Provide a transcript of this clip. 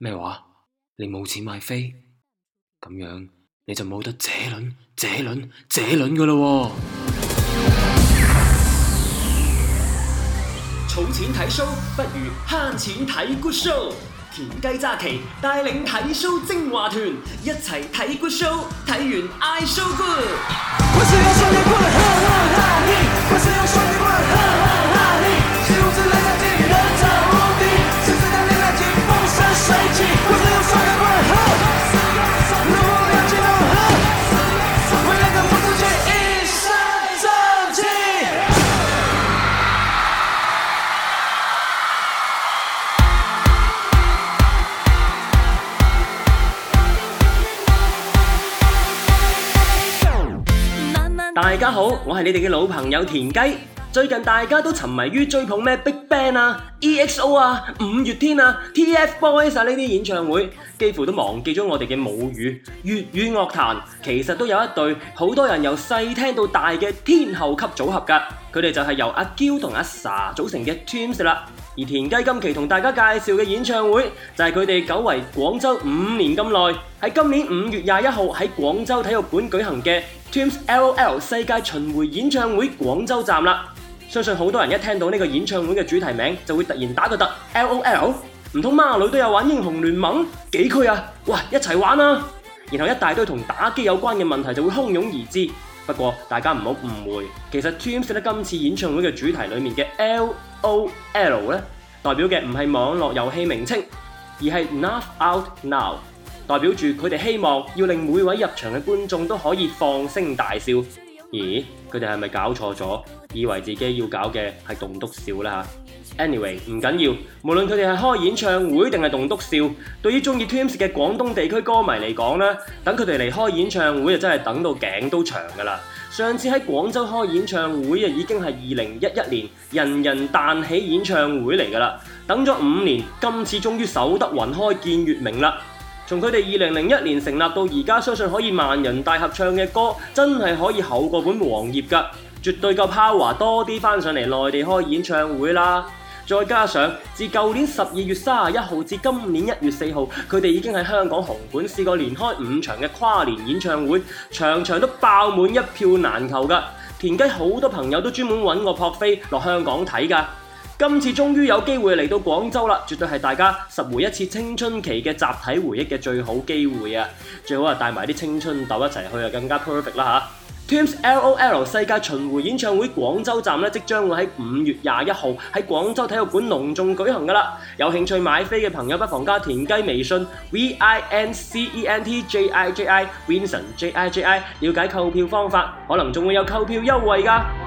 咩話？你冇錢買飛？咁樣你就冇得這輪㗎喇喎！ 儲錢睇 show 不如慳錢睇 good show。田雞揸旗帶領睇 show 精華團，一齊睇 good show， 睇完嗌 show good。我是要雙截棍，哈哈哈嘿！我是要雙截棍，哈哈哈嘿！是如此來相見，人潮無敵，是這樣的愛情風生水起。我是要雙截棍，哈，如果要激動，哈，為了跟不出去一身正氣。大家好，我係你哋嘅老朋友田雞。最近大家都沉迷於追捧咩 BigBang 啊、EXO 啊、五月天啊、TFBOYS 啊呢啲演唱會，幾乎都忘記咗我哋嘅母語粵語樂壇。其實都有一隊好多人由細聽到大嘅天后級組合㗎，佢哋就係由阿嬌同阿 Sa 組成嘅 Twins 啦。而田雞今期同大家介紹嘅演唱會就係佢哋久違廣州5年咁耐，喺今年5月21號喺廣州體育館舉行嘅 Twins LOL 世界巡迴演唱會廣州站啦。相信好多人一聽到呢個演唱會嘅主題名就會突然打個突 LOL， 唔通孖女都有玩英雄聯盟？幾區啊？哇，一齊玩啊！然後一大堆同打機有關嘅問題就會洶湧而至。不過大家唔好誤會，其實 Twins 咧今次演唱會嘅主題裡面嘅 LOL 咧，代表嘅唔係網絡遊戲名稱，而係 Laugh Out Now， 代表住佢哋希望要令每位入場嘅觀眾都可以放聲大笑。咦？佢哋係咪搞錯咗？以為自己要搞嘅係棟篤笑啦嚇。Anyway， 唔緊要，無論佢哋係開演唱會定係棟篤笑，對於中意 Twins 嘅廣東地區歌迷嚟講咧，等佢哋嚟開演唱會就真係等到頸都長㗎啦。上次喺廣州開演唱會已經係2011年人人彈起演唱會嚟㗎啦，等咗5年，今次終於守得雲開見月明啦。從佢哋2001年成立到而家，相信可以萬人大合唱嘅歌，真係可以厚過本黃頁㗎，絕對夠 power 多啲返上嚟內地開演唱會啦。再加上自舊年12月31號至今年1月4號，佢哋已經喺香港紅館試過連開5場嘅跨年演唱會，場場都爆滿一票難求㗎。田雞好多朋友都專門揾我撲飛落香港睇㗎。今次終於有機會嚟到廣州啦，絕對係大家拾回一次青春期嘅集體回憶嘅最好機會啊！最好係帶埋啲青春豆一齊去啊，更加 perfect 啦嚇！Twins LOL 世界巡迴演唱會廣州站即將會喺5月21號喺廣州體育館隆重舉行㗎啦！有興趣買飛嘅朋友不妨加田雞微信 VINCENTJIJI Vincent JIJI 了解購票方法，可能仲會有購票優惠㗎！